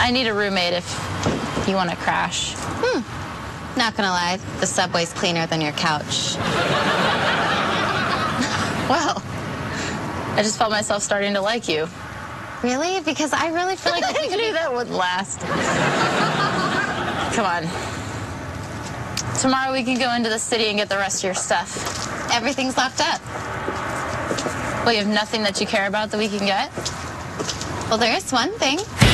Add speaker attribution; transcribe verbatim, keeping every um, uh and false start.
Speaker 1: I need a roommate if you want to crash.
Speaker 2: Hmm. Not gonna lie, the subway's cleaner than your couch.
Speaker 1: Well, I just felt myself starting to like you.
Speaker 2: Really? Because I really feel like
Speaker 1: I knew that wouldn't last. Come on. Tomorrow we can go into the city and get the rest of your stuff.
Speaker 2: everything's locked up.
Speaker 1: Well, you have nothing that you care about that we can get?
Speaker 2: Well, there is one thing.